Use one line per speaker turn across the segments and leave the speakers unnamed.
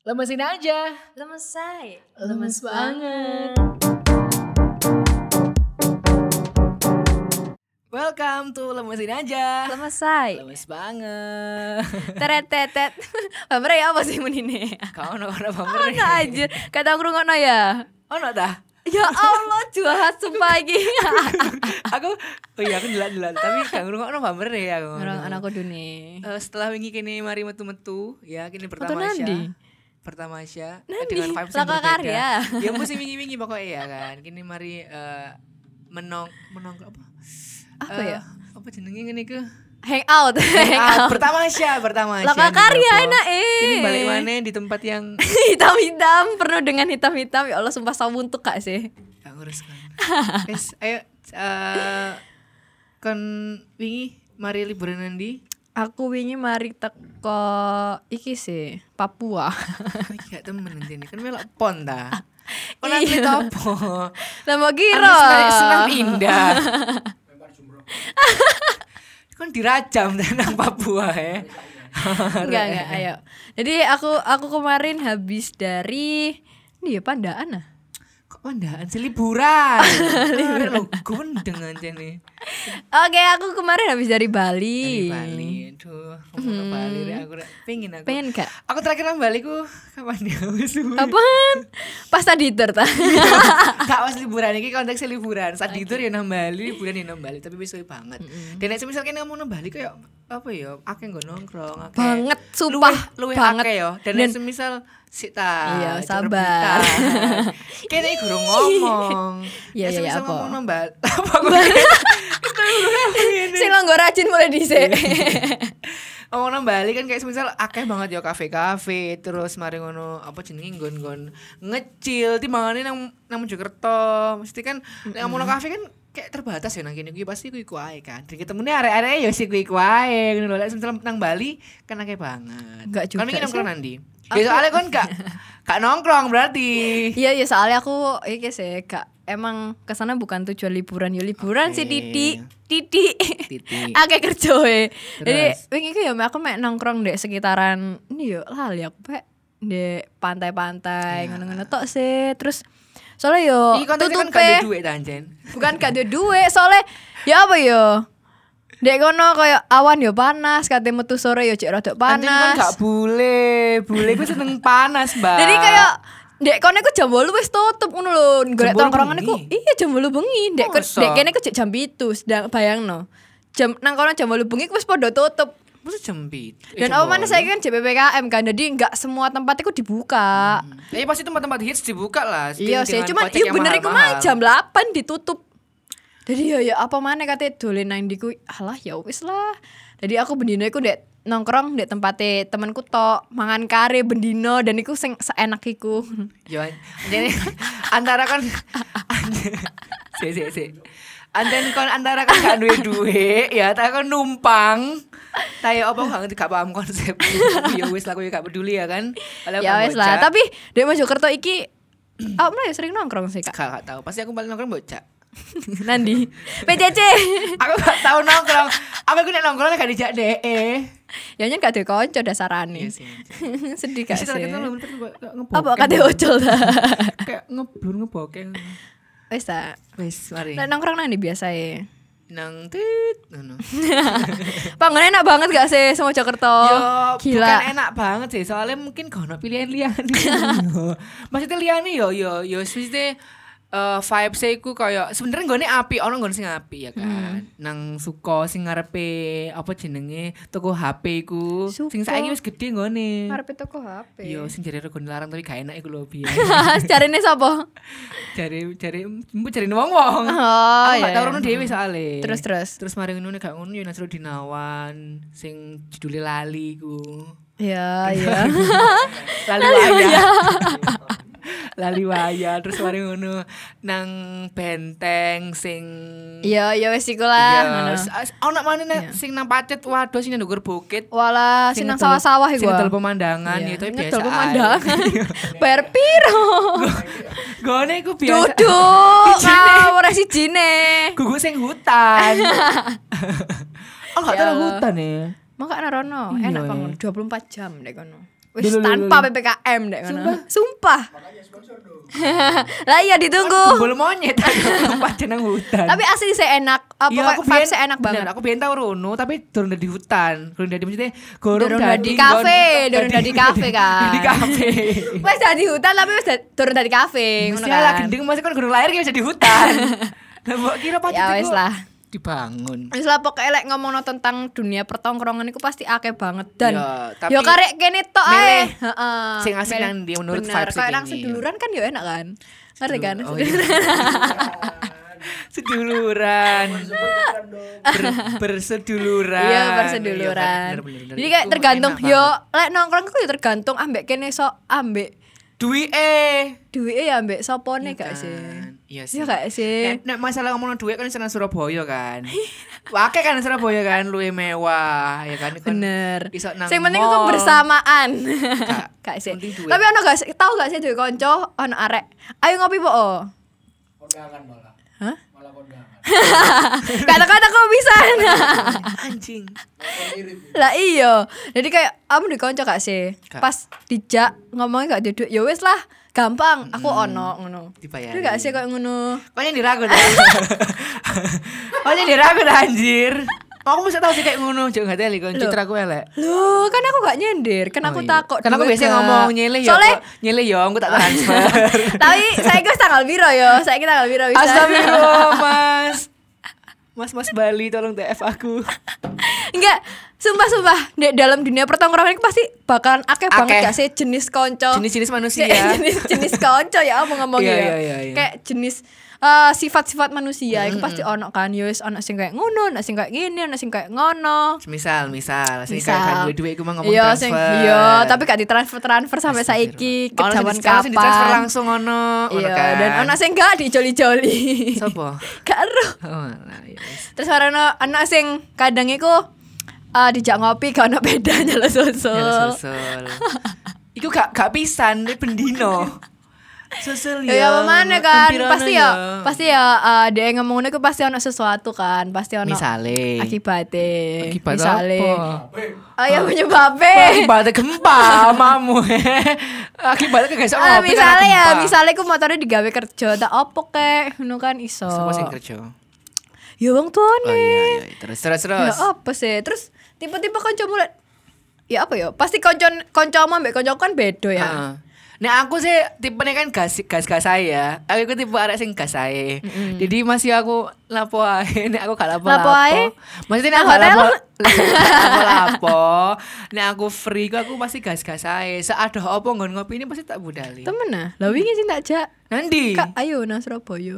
Lemesin aja.
Lemesai.
Lemes banget. Welcome to Lemesin aja.
Lemesai.
Lemes banget.
Teretetet. Pamere ya apa sih menine?
Kau ono pamer.
Ono aja. Kata ngrungokno ya.
Ono dah.
Ya Allah, jahat sumpah iki.
Aku delan-delan tapi gak ngrungokno pamer ya aku.
Orang anakku dune.
Setelah wingi kene mari metu-metu ya kene
Foto
pertama
nandi?
Pertama Asya
Nandi?
dengan vibes yang
Laka
berbeda.
karya.
Ya mesti wingi-wingi pokoknya ya kan. Kini mari menong apa?
Apa ya?
Apa jenenge ngene iku?
Hangout. Hangout.
Pertama Asya.
Laka karya enak
Kini balik mana di tempat yang
hitam-hitam, penuh dengan hitam-hitam. Ya Allah, sumpah sawuntuk gak sih?
gak ngurus kan. Guys, ayo kon wingi mari liburan nanti.
Aku wingi mari teko iki sih, Papua.
Iki gak temen nanti ini kan melok pon ta. Oh nanti topo.
Lah mau kira.
Senam indah. Kan dirajam nang Papua ya.
Enggak, ayo. Jadi aku kemarin habis dari ini ya Pandaan ah.
Kok pandaan sih liburan. Liburan gundeng aja nih.
Oke, aku kemarin habis dari Bali.
Dari Bali. Aduh, ngomong Bali deh aku pengen aku.
Pengen gak?
Aku terakhir nang Bali ku kapan ya wis.
Apaan? Pas tadi ta.
Gak pas liburan iki konteksnya liburan. Saat itu ya nang Bali, liburan ya nang Bali, tapi wis suwe banget. Dan nek misalnya kamu nang Bali kayak apa ya? Akeh nggo nongkrong, akeh.
Banget, sumpah.
Luwih
banget.
akeh ya. Dan semisal sita.
Iya, sabar.
Kene iki guru ngomong.
Iya,
semisal
apa?
ngomong nang Bali. Apa
Sing lo nggo rajin mulai dhisik.
Ngomong nang Bali kan kayak semisal akeh banget ya kafe-kafe, terus mari ngono apa jenenge nggon-nggon ngecil timbangane nang Mojokerto. Mesti kan nek ngomong kafe kan kayak terbatas ya nang kene kuwi pasti kuwi ae kan. Dadi ketemune arek-arek ya si kuwi ae ngono lho. Lek semisal nang Bali kan akeh banget.
Enggak juga.
Kan wingi nongkrong nandi. Ya soalnya kan gak nongkrong berarti.
Iya, soalnya aku iki sih gak emang kesana bukan tujuan liburan, ya liburan sih titik. Akeh kerjoe. Jadi wingi iki ya aku mek nongkrong dek sekitaran ini yo lali aku pek dek pantai-pantai ngono-ngono tok sih. Terus soalnya yo
Iki konteksnya kan
tutupe
gak ada duit ta anjen.
bukan gak ada duit, soalnya ya apa yo dek kono kayak awan yo panas, kate metu sore yo cek rada
Anjen kan
panas.
gak bule ku seneng panas, Mbak.
Jadi kayak dek kono iku jam 8 wis tutup ngono lho. Golek
8
tongkrongan iku.
bengi?
Iya jam 8 bengi. Dek kene ku jam 7, sedang bayangno. Jam nang kono jam 8 bengi wis padha tutup.
Masa jam 7.
Dan apa mana saya kan JPPKM kan. Jadi enggak semua tempat itu dibuka.
Ya pasti tempat-tempat hits dibuka lah.
Iya sih, cuman iya bener iku mah jam 8 ditutup. Jadi ya apa mana kate dolen nang ndiku. Alah ya wis lah. Jadi aku bendino iku dek nongkrong dek tempate temanku tok, mangan kare bendino dan iku sing seenak iku.
Yo, jadi antara kan si. Anten kon antara kan gak duwe ya, tak kon numpang. Tayo apa gak paham konsep. Ya wis lah aku gak peduli ya kan.
Ya wis lah, tapi dek Mojokerto iki aku mulai sering nongkrong sih, Kak.
Gak tahu. Pasti aku paling nongkrong bocah.
Nandi PCC.
Aku gak tahu nongkrong. Aku nek nongkrong gak dijak DE.
Ya nyen gak ada konco dasarane.
Iya sih.
Sedih gak sih?
Apa
Apa kate ojol ta?
Kayak ngeblur ngebokeng.
Wis ta.
Wis mari.
Nek nongkrong nang ndi biasae?
Nang tit ngono.
Panggon enak banget gak sih sama Jakarta?
Yo,
gila.
Bukan enak banget sih, soalnya mungkin gak ono pilihan liyane. Maksudnya liyane yo mesti vibes iku koyo sebenarnya nggone api, ono nggone sing api ya kan. Nang Suko sing ngarepe apa jenenge toko HP iku. Sing saiki wis gede nggone.
Ngarepe toko HP.
Yo sing jare rego larang tapi gak enak iku lho biyen.
Carine sapa?
Jare wong-wong.
Oh
Aku
iya.
gak tau rono dhewe soalé.
Terus.
Mari ngono gak ngono yo Nasru Dinawan sing judule lali iku.
Ya.
Lali waya. Lali waya terus mari ngono nang benteng sing
Iya wis iku lah.
Ono maneh sing nang Pacet waduh sing nang ndukur bukit.
Walah, sing nang sawah-sawah iku.
Sing ngedol pemandangan ya itu biasa.
Ngedol pemandangan. Bayar piro?
Gone iku biasa.
Duduk. Ora sijine.
Gugu sing hutan. Oh, gak tahu hutan ya.
Maka ana rono,
Iya,
enak
iya.
banget 24 jam dek kono. Wis tanpa PPKM dek ngono. Sumpah. Lah iya ditunggu.
Gembul monyet tempat jeneng hutan.
Tapi asli saya enak. Apa
Iya,
vibes saya enak banget.
Aku biyen tau rono tapi durung di hutan. Durung dadi maksudnya
Durung dadi kafe, durung dadi kafe kan.
Di kafe.
Wis dadi hutan tapi wis durung dadi kafe ngono
Mesti lah
kan.
gendeng masih kan gurung lahir ki wis di hutan. Lah mbok kira pacet
Ya wis lah.
dibangun.
Wis lah pokoke lek ngomongno tentang dunia pertongkrongan iku pasti akeh banget dan
Ya, tapi
yo karek kene tok ae.
milih
Heeh.
sing asik nang ndi menurut
Bener,
vibes
kayak nang
ini.
seduluran kan yo enak kan. Ngerti kan?
Oh, iya. Seduluran. Berseduluran.
Iya berseduluran.
Iya, bener.
Jadi kayak
Itu
tergantung
enak
yo
banget.
lek nongkrong ku yo tergantung ambek kene sok ambek
Duwike.
duwike ya ambek sopone gak sih?
Iya sih.
Iya gak sih?
Nek masalah ngomong duit kan senang Surabaya kan. Wakai kan Surabaya kan luwih mewah ya kan.
Bener.
Iso nang
Sing penting
mall.
itu bersamaan. Gak sih.
penting duit.
Tapi ono gak sih tahu gak sih duwe kanca ono arek. Ayo ngopi po.
Kondangan malah.
Hah?
Malah kondangan.
Kata-kata kok bisa.
Anjing.
Lah iya. Jadi kayak kamu di kanca gak sih?
Gak.
Pas dijak ngomongnya gak duduk. Ya wis lah, gampang. Aku ono ngono.
Dibayari.
Tapi gak sih kayak ngono.
Kok yang diragu dah. Kok yang diragu dah anjir. Aku mesti tahu sih kayak ngono, jangan nggak teli kon
Loh.
citra aku elek.
Loh, kan aku gak nyender, kan
Oh,
aku
iya.
takut.
Kan aku
duit
biasanya
gak.
ngomong nyilih ya.
Soalnya,
kok. Nyilih ya, aku tak transfer.
tapi saya guys tanggal biro yo, saya tanggal biro bisa.
Astagfirullah, Mas. Mas Bali tolong DF aku.
Enggak, sumpah di dalam dunia pertongkrongan itu pasti bakalan akeh
Akeh.
banget gak sih jenis konco.
Jenis-jenis manusia.
jenis konco ya aku ngomong
Iya,
ya.
iya.
Kayak jenis sifat-sifat manusia itu pasti ono kan. Yo wis ono sing kayak ngono, ono sing kayak gini, ono sing kayak ngono.
Misal, sing kayak duit-duit aku mah ngomong
Iya,
transfer.
iya, tapi gak ditransfer sampai saiki ke
Ono sing
zaman
sekarang sing ditransfer
kapan.
langsung ono.
Iya,
kan.
dan ono sing gak dijoli-joli.
Sopo?
Karo.
Oh, nah, iya.
Terus ono sing kadang iku dijak ngopi gak ono bedanya lo susul.
Susul. Iku gak pisan, ini bendino. Susul
Ya apa mana kan?
Pempirono
Pasti ya dia ngomong ngono iku pasti ono sesuatu kan, pasti ono
Misale.
akibatnya.
Akibat
Misale.
apa?
Ya penyebabnya.
Akibatnya gempa, mamu. Akibatnya kagak iso ngopi.
Misalnya ya,
karena gempa.
misalnya aku motornya digawe kerja, tak opo kek, ngono kan iso.
Siapa sing kerja?
Ya wong tuane.
Oh iya. Terus.
Ya apa sih? Terus tipe-tipe kanca mulai ya apa ya? Pasti kancamu ambek kancaku kan beda ya.
Heeh. Nah aku sih tipenya kan gas saya. Aku tipe arek sing gas ae. Jadi masih aku lapo ae, nek aku gak lapo.
Lapo ae?
Maksudnya nek
Nang
gak
hotel?
lapo. Nek aku free aku pasti gas ae. Seada apa nggon ngopi ini pasti tak budali.
Temen ah. Lah wingi sing tak jak.
Nanti.
Kak, ayo nang Surabaya.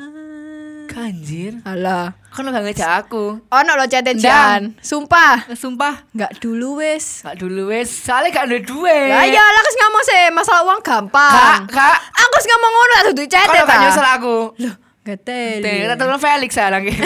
Kanjir.
Alah.
Kan lo gak ngejak aku.
Ono lo chat-chatan. Sumpah.
Sumpah.
Enggak dulu wis.
Gak dulu wes. Soalnya gak ada duit.
Lah iya lah kes ngomong sih masalah uang gampang.
Kak.
Aku wis ngomong ngono tak dudu chat
Kalau gak nyusul aku.
Loh, gak teli.
Tak tolong Felix sekarang gini.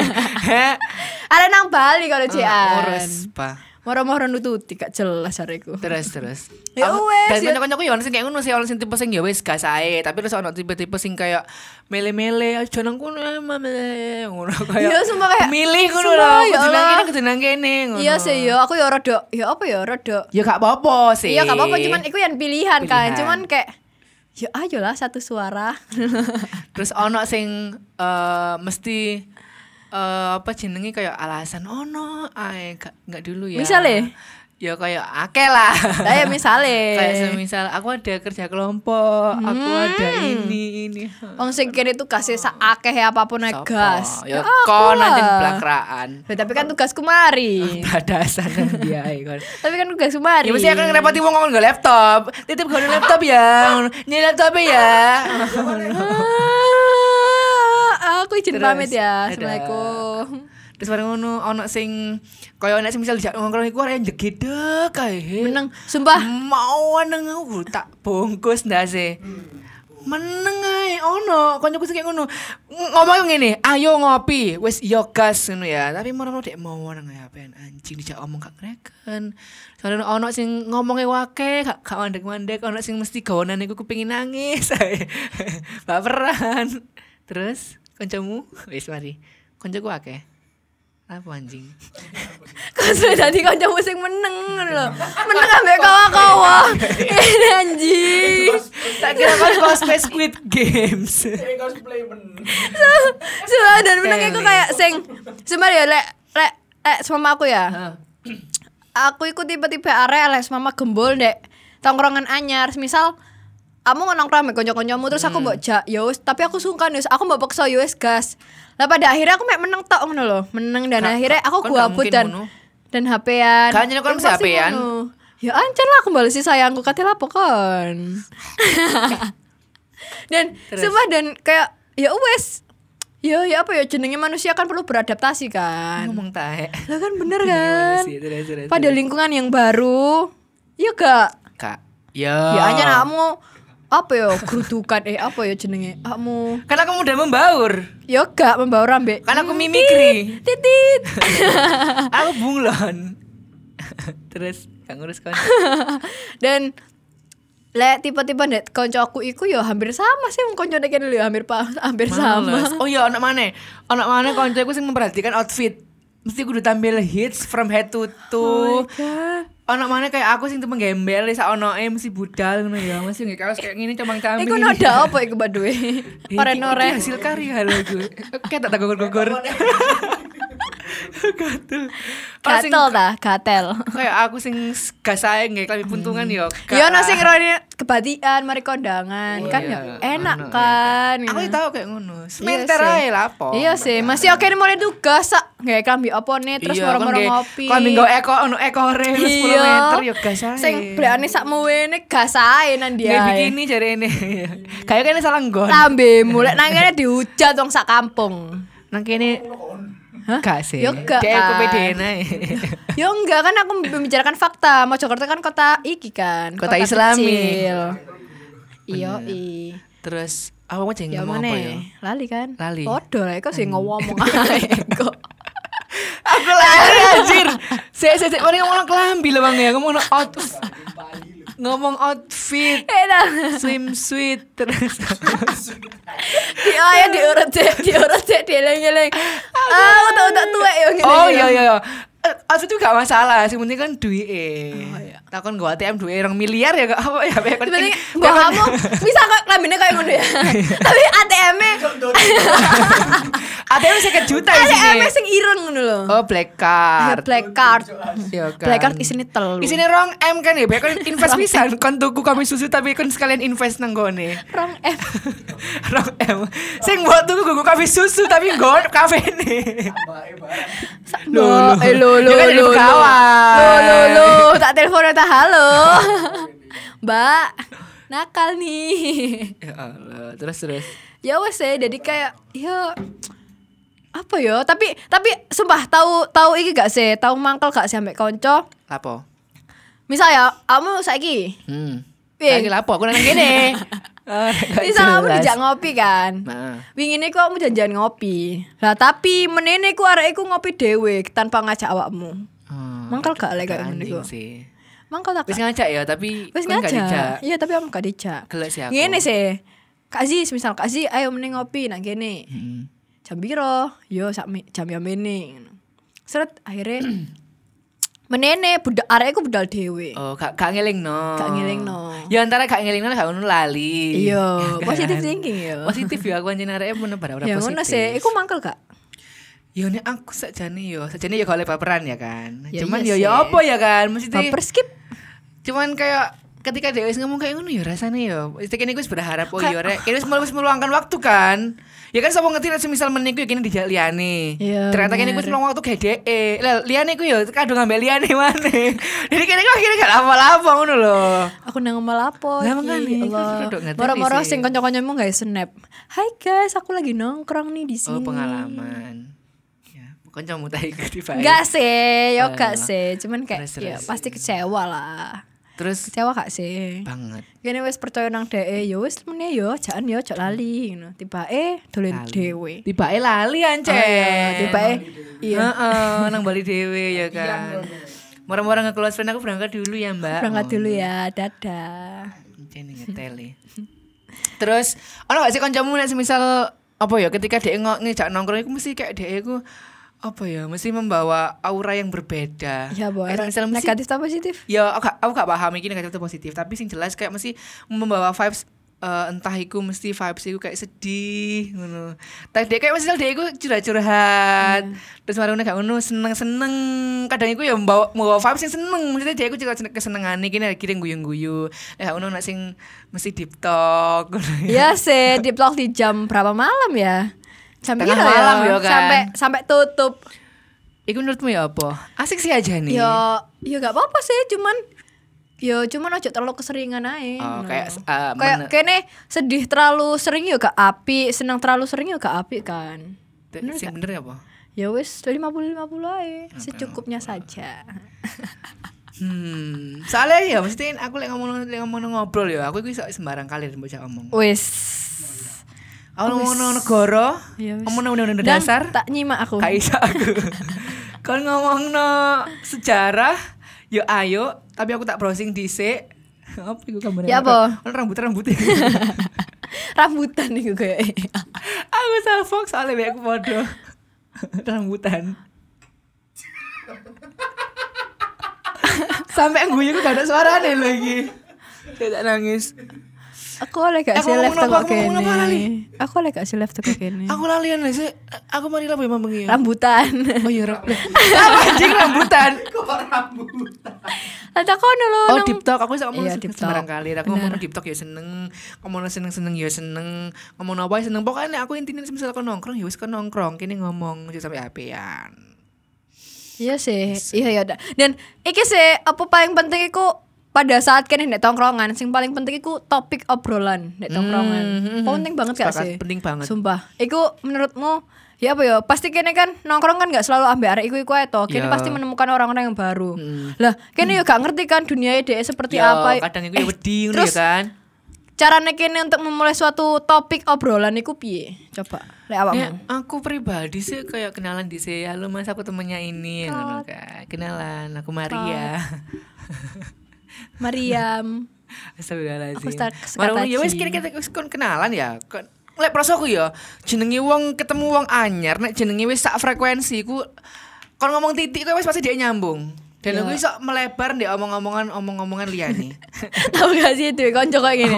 Ada nang Bali kalau
Urus,
cian.
Pak.
Moro-moro nututi gak jelas areku.
Terus.
Ya wes,
Dan
ya.
kanca-kancaku ya ono sing kayak ngono sih, ono sing tipe sing ya wis gas ae, tapi terus ono tipe-tipe sing kayak mele-mele aja nang kono mame ngono kayak.
Iya, sumpah kayak,
milih ngono
sumpah,
lho,
ya
kudu nang
Allah.
kene kudu nang kene ngono.
Iya sih yo, aku ya rada ya apa ya rada.
Ya gak apa-apa sih.
Iya gak apa-apa cuman iku yang pilihan kan.
Pilihan.
Cuman kayak ya ayolah satu suara.
Terus ono sing mesti apa jenenge kayak alasan ono ae gak dulu ya.
Misale?
Ya kayak akeh lah.
Lah ya misale.
Kayak semisal aku ada kerja kelompok, aku ada ini.
Wong sing kene tuh kasih sakeh apapun ae
Sopo?
gas.
Ya
aku
kon nanti
lah.
blakraan.
Lah, tapi kan tugasku mari.
Badasan nang dia kon.
Tapi kan tugasku mari.
Ya mesti akan ngerepoti wong ngomong nggo laptop. Titip nggo laptop ya. Ini laptop ya.
Aku izin
Terus,
pamit ya.
dadah.
Assalamualaikum.
Terus bareng ngono ono sing kaya nek misal dijak ngomong iku arek jegedek kae.
Meneng, sumpah.
Mau nang aku tak bungkus ndase. Meneng ae ono koncoku sing kayak ngono. Ngomong ngene, ayo ngopi, wis yo gas ngono ya. Tapi mono dek mau nang apen anjing dijak omong gak kreken. Soalnya ono sing ngomongnya wake, gak mandek-mandek, ono sing mesti gawanan iku kepengin nangis. Baperan. Terus kancamu wis mari. Kancaku akeh. Apa anjing?
Cosplay dadi kancamu sing meneng ngono lho. Meneng ambek kawa-kawa. Ini anjing.
Tak kira kan cosplay Squid Games.
Cosplay bener.
Dan meneng iku kayak sing sebenarnya lek sama aku ya. Aku ikut tiba-tiba arek lek sama gembol ndek tongkrongan anyar. Misal kamu nongkrong sama konco-koncomu terus aku mbok jak ya wis, tapi aku sungkan wis, aku mbok paksa ya wis gas. Lah pada akhirnya aku mek meneng tok ngono lho, meneng dan akhirnya aku gabut dan HP-an.
Kan jenenge kon HP-an.
Ya ancen lah aku balesi sayangku kate lapo kon. Dan sumpah dan kayak ya wis. Ya apa ya jenenge manusia kan perlu beradaptasi kan.
Ngomong tahe.
Lah kan bener kan.
Terus.
Pada lingkungan yang baru. Ya gak?
Kak.
Ya hanya kamu apa ya gerudukan apa ya jenenge kamu
kan aku mudah membaur
ya gak membaur ambek
kan aku mimikri
titit
aku bunglon terus gak ngurus kan
dan lek tiba-tiba nek koncoku iku ya hampir sama sih konco nek dulu ya hampir sama.
Oh iya anak mana koncoku sing memperhatikan outfit mesti kudu tampil hits from head to toe. Ono mana kayak aku sing temen gembel sak onoe mesti budal ngono ya. Mesti nggih kaos kayak ngene comang-camping.
Iku ada apa iku baduwe? Oren-oren
hasil karya lho iku. Kayak tak gogor-gogor.
Gatel.
Kayak aku sing gak sae nggih klambi puntungan ya.
Ya ono sing rene kebatian mari kondangan kan ya enak kan.
Aku tahu kayak ngono. Sementer ae lah apa.
Iya sih, masih oke mulai tugas sak nggih klambi opone terus moro-moro ngopi.
Klambi nggo ono ekore 10 meter ya gas ae.
Sing blekane sakmu wene gas ae nang dia.
Nggih bikini jarene. Kayak kene salah nggon.
Lambemu lek nang kene dihujat wong sak kampung.
Nang kene gak sih.
Yo gak.
Kayak aku pedean ae.
Yo enggak kan aku membicarakan fakta. Mojokerto kan kota iki kan.
Kota Islami.
Iya
Terus apa mau jeneng
apa
ya?
Lali kan?
Lali.
Podo lah kok sing ngomong ae kok.
Aku lari anjir. Sik mari ngomong kelambi lho Bang ya. Ngomong outfit. Swimsuit terus.
Dia diurut cek dieleng-eleng. Utak tuwek yo ngene.
Oh iya. Outfit itu gak masalah, sing penting kan duwike.
Oh iya.
Takon gua ATM duwe 2 miliar ya gak apa ya.
Sebenarnya mbak kamu bisa kok lambene kayak ngono ya. Tapi ATM-e
ATM 50 juta di sini.
ATM sing ireng ngono lho.
Oh, black card.
Black card.
Iya kan.
Black card isine 3.
Isine 2M kan ya, kan invest pisan kon tuku kami susu tapi kon sekalian invest nang gone.
2M.
2M. Sing mbok tuku kuku kami susu tapi nggon kafene. Lo.
Tak telepon tak halo. Mbak, nakal nih.
Ya Allah, terus.
Ya wes jadi kayak ya apa ya? Tapi sumpah tahu iki gak sih? Tahu mangkel gak sih ambek kanca?
Lapo?
Misal ya, kamu saiki.
Saiki lapo aku nang kene.
Misal kamu dijak ngopi kan.
Heeh.
Wingine ku kamu janjian ngopi. Lah tapi menene ku arek iku ngopi dhewe tanpa ngajak awakmu. Mangkel gak lek kayak ngono iku. Mangkel tak.
Wis ngajak ya, tapi
wis
kan gak dijak.
ngajak. Iya, tapi kamu gak dijak.
Gelek sih aku.
Ngene sih. Kak Aziz, misal Kak Aziz ayo meneng ngopi nang kene. Jam piro? Yo sak jam yang mene. Seret akhirnya menene budak arek iku budal dhewe.
Oh, gak ngelingno.
Gak ngelingno.
Ya antara gak ngelingno gak ngono lali.
Iya, positive thinking yo.
Positif ya aku anjene areke bener ora
Ya
positif.
ngono sih, iku mangkel gak?
Ya nek aku sakjane ya gak oleh baperan ya kan.
Ya,
Cuman
iya
ya
sih.
apa ya kan? Mesti
Baper skip.
cuman kayak ketika dia ngomong kayak ngono ya rasanya ya. Mesti kene gue berharap oh ya rek, kene wis meluangkan waktu kan. Ya kan sapa ngerti nek semisal meniku ya kene dijak liyane.
Iya,
Ternyata kene gue meluang waktu gede. Lah liyane ku ya kadung ngambil liyane maneh. Jadi kene kok akhirnya gak apa-apa ngono lho.
Aku nang ngelapo.
Lah makane, kan rodok ngerti
Moro-moro
sih.
sing kanca-kancamu gawe snap. Hai guys, aku lagi nongkrong nih di sini.
Oh pengalaman. Ya, kancamu ta iku tiba.
Enggak sih, yo gak sih. Cuman kayak
Terus.
ya pasti kecewa lah.
Terus
Kecewa gak sih?
banget.
Kene wis percaya nang dhek, yo wis meneh yo, jangan yo jok lali ngono. Tibake dolen dhewe.
Tibake lali ancen.
Tibake iya.
Heeh, nang Bali dhewe ya kan. Mora-mora nge-close friend aku berangkat dulu ya, Mbak.
Berangkat dulu ya, dadah.
Ancen ngeteli. Terus ono gak sih kancamu nek semisal apa ya ketika dhek ngejak nongkrong iku mesti kayak dhek iku apa ya, mesti membawa aura yang berbeda.
Ya, boy.
Kayak misalnya mesti,
Negatif atau positif?
ya aku gak paham ini negatif atau positif, tapi sing jelas kayak mesti membawa vibes entah iku mesti vibes iku kayak sedih ngono. Tadi kayak misal dia iku curhat-curhat. Terus marune gak ngono seneng-seneng. Kadang iku ya membawa vibes yang seneng. Maksudnya dia iku juga kesenengane iki nek kirim guyu-guyu. Gak ngono nek sing mesti deep talk.
Iya sih, deep talk di jam berapa malam ya? Jam
Tengah
piro
malam ya kan?
Sampai tutup.
Iku menurutmu ya apa? Asik sih aja nih.
Ya gak apa-apa sih, cuman aja terlalu keseringan aja.
Oh, kayak
kayak kene sedih terlalu sering ya gak apik, senang terlalu sering ya gak apik kan.
sing bener ya apa?
Ya wis 50-50 aja, secukupnya saja.
Soalnya ya mesti aku lek ngomong ngobrol ya, aku iku iso sembarang kali mbok ngomong.
Wis.
Aku ngomong negara,
Ya wis.
ngomong undang-undang
Dan
dasar.
tak nyimak aku.
Gak iso aku. Kon ngomongno sejarah, yo ayo, tapi aku tak browsing dhisik. Apa iku gambarnya?
Ya apa?
Ono rambut.
Rambutan iku kayak.
Aku salfok soalnya bae aku podo. Rambutan. Sampai guyu gak ada suarane lagi. Saya tak nangis.
Aku oleh gak sih live teko kene.
lali?
Aku oleh gak sih live teko kene.
Aku lalian lah sih. Aku mari lah memang bengi.
Rambutan.
Oh iya apa anjing rambutan.
Kok rambutan?
Ada kono lho.
Oh deep talk aku bisa ngomong
Iya, deep talk.
sembarang kali. Aku ngomong deep talk ya seneng, ngomong seneng ya seneng, ngomong apa ya seneng. Pokoknya aku intinya misalnya kon nongkrong ya wis kon nongkrong, kene ngomong aja sampai apean.
Iya sih. Iya ya. Dan iki sih apa paling penting iku pada saat kene nek tongkrongan sing paling penting iku topik obrolan nek tongkrongan. Penting banget gak
Sepakat,
sih?
penting banget.
Sumpah. Iku menurutmu ya apa ya? Pasti kene kan nongkrong kan gak selalu ambek arek iku ae to. Kene
Ya.
pasti menemukan orang-orang yang baru. Lah, kene yo gak ngerti kan dunia dhek seperti
Ya,
apa.
kadang iku ya wedi ngono
terus
ya kan.
Carane kene untuk memulai suatu topik obrolan iku piye? Coba lek awakmu.
Ya, aku pribadi sih kayak kenalan di sini. Halo Mas, aku temennya ini ngono kan. Kenalan, aku Maria.
Mariam.
Astagfirullahaladzim.
Aku start
Marang
kata
ya wis
Ci.
kira-kira kon kenalan ya. Lek prosoku ya, jenenge wong ketemu wong anyar nek jenenge wis sak frekuensi ku kon ngomong titik kowe wis pasti dia nyambung. Dan aku iso melebar ndek omong-omongan liyane.
Tahu gak sih itu konco kayak gini.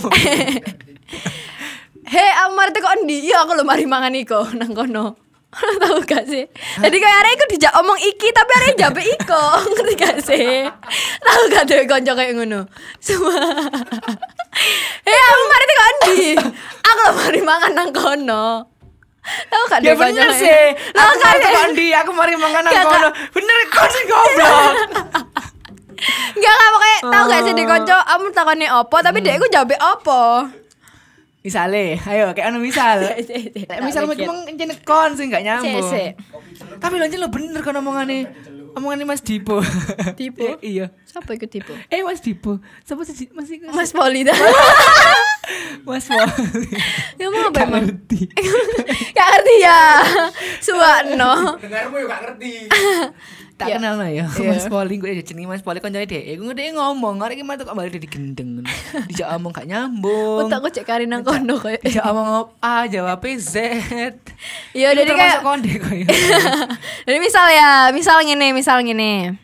Hei, Amar teko ndi? Iya aku lho mari mangan iko nang kono. Tahu gak sih? Jadi kayak arek iku dijak omong iki tapi arek jabe iko. Ngerti gak sih? Tahu gak tuh konco kayak ngono. Semua. Hei, Amar teko ndi? Aku lho mari mangan nang kono. Tahu gak
Ya
tuh konco
bener
kayak-
sih.
Lah
Aku
kan
mari tekan ndi, aku mari mangan nang
Gak,
kono. Bener kon sing goblok.
Enggak pokoknya tahu gak sih dek konco kamu takone opo tapi dek iku jabe opo.
Misale, ayo kayak anu misal. Lek misal mau ngomong jenek kon sing gak nyambung.
Sik.
Tapi lonjen lo bener kan omongane Mas Dipo.
Dipo?
Iya.
Siapa iku tipe?
Mas Dipo. Siapa sih Mas iku?
Mas Polida.
Mas Wali.
Ya mau apa
Gak
emang?
ngerti.
Gak ngerti ya. Suwakno.
Dengarmu juga gak ngerti.
Tak
Ya.
kenal lah ya.
Iya.
Mas Poli gue jenenge Mas Poli koncone dhek. Gue ngene ngomong, arek iki metu kok balik digendeng. Dijak omong gak nyambung.
Utakku cek kari nang kono koyo.
Dijak omong A jawab Z.
Iya jadi kayak
konde koyo.
jadi misal ngene.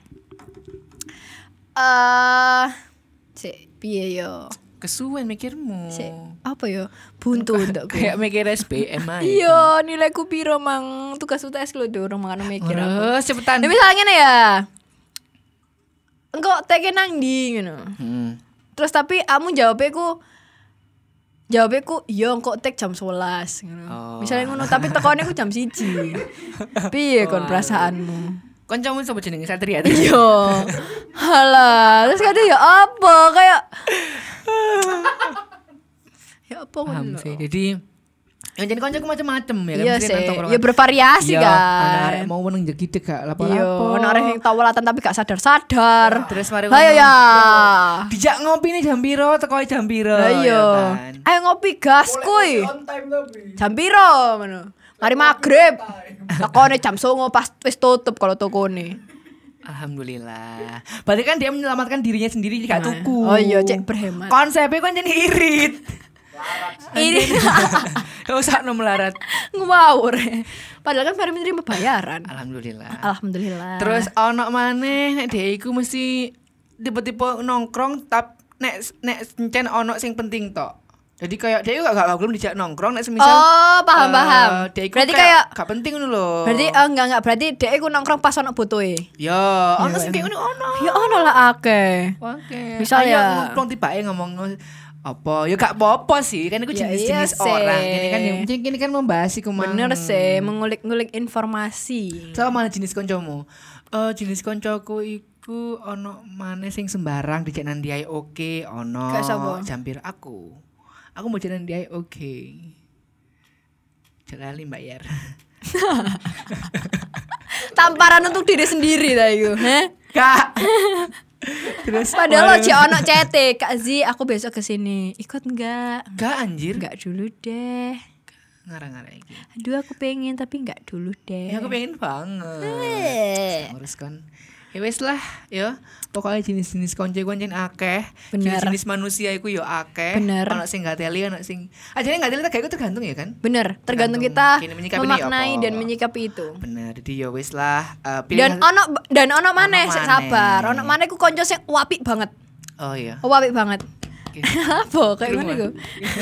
Cek piye yo?
Kesuwen mikirmu.
Cek apa yo? Buntu untukku.
Kayak mikir SBM aja.
Iya, nilaiku piro mang tugas UTS lho durung mangan mikir aku.
Terus cepetan.
Nah, misalnya ngene ya. Engko teke nang ndi ngono. Terus tapi kamu jawabnya ku iya engko tek jam 11 ngono.
Oh.
Misalnya ngono tapi tekone ku jam 1. Piye kon perasaanmu?
Kancamu sapa jenenge Satria?
Iya. Halah, terus kata ya apa kayak ya apa
Paham
ngono.
sih. Jadi yang jadi koncoku macam-macam ya kan.
Iya
Mesti
sih.
nang tongkrongan.
Ya bervariasi
Iya, ana arek
kan.
mau meneng jegi gak
Iya,
lapo-lapo.
ono arek yang tawalatan tapi gak sadar-sadar.
Terus mari
Ayo
ngomong,
ya.
dijak ngopi nih jam piro, teko jam piro.
Lah iya.
ya kan.
Ayo ngopi gas kuy.
On time tapi.
Jam piro ngono. Mari maghrib. Takone jam 09.00 pas wis tutup kalau tokone.
Alhamdulillah. Berarti kan dia menyelamatkan dirinya sendiri gak tuku.
Oh iya, cek berhemat.
Konsepnya kan jadi irit.
Ini
Gak usah melarat.
Ngawur. Padahal kan Fahri menerima bayaran.
Alhamdulillah. Terus ono maneh nek dhek iku mesti tipe-tipe nongkrong nek encen ono sing penting tok. Jadi kayak dia juga gak belum dijak nongkrong nek semisal.
Oh, paham.
Berarti kayak gak penting ngono lho.
Berarti enggak berarti dia iku nongkrong pas ono butuhe.
Ya, ono sing kayak ngono ono.
Ya ono lah akeh.
Oke.
Misal ya
nongkrong tibake ngomong apa ya gak apa-apa sih kan itu jenis-jenis orang ini kan yang penting ini kan membahas iku
bener sih mengulik-ngulik informasi.
So mana jenis koncomu? Jenis koncoku iku ono maneh sing sembarang dijak nang diae oke ono jampir aku mau jalan diae oke jalali bayar.
Tamparan untuk diri sendiri ta iku,
Kak. Terus
padahal lo ono cete, Kak Zi, aku besok kesini. Ikut enggak?
Enggak anjir.
Enggak dulu deh.
Ngarang-ngarang iki.
Aduh aku pengen tapi enggak dulu deh.
Ya aku pengen banget. Nguruskan. Ya wes lah, ya. Pokoknya jenis-jenis konco-konco akeh. Jenis-jenis manusia iku yo akeh. Ono sing gateli, ono sing ajane gateli tak iku tergantung ya kan?
Bener, tergantung kita memaknai dan menyikapi itu.
Bener, jadi ya wes lah.
Dan ono maneh sik sabar. Ono maneh ku konco sing apik banget.
Oh iya.
Apik banget. Apa kayak ngono iku?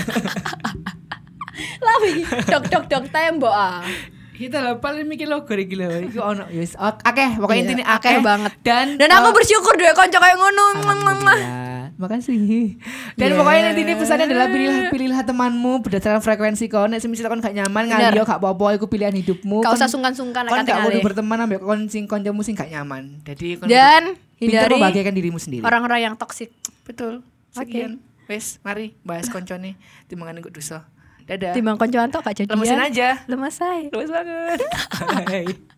Lah iki dok tembok ah.
Kita lah paling mikir logo iki lho. Iku ono wis akeh, pokoknya intine akeh
banget.
Dan
aku bersyukur deh kanca kayak ngono.
Makasih. Dan pokoknya intine pesannya adalah pilihlah temanmu berdasarkan frekuensi kau. Nek semisal kon gak nyaman ngaliyo gak apa-apa iku pilihan hidupmu.
Gak usah sungkan-sungkan
kon gak kudu berteman ambek kancamu sing gak nyaman. Jadi kon
dan hindari
membahagiakan dirimu sendiri.
Orang-orang yang toksik.
Betul. Sekian. Wes, mari bahas koncone timbangan iku dosa. Dadah.
Timbang koncoan tok gak jadian.
Lemesin aja.
Lemes banget.
Bye.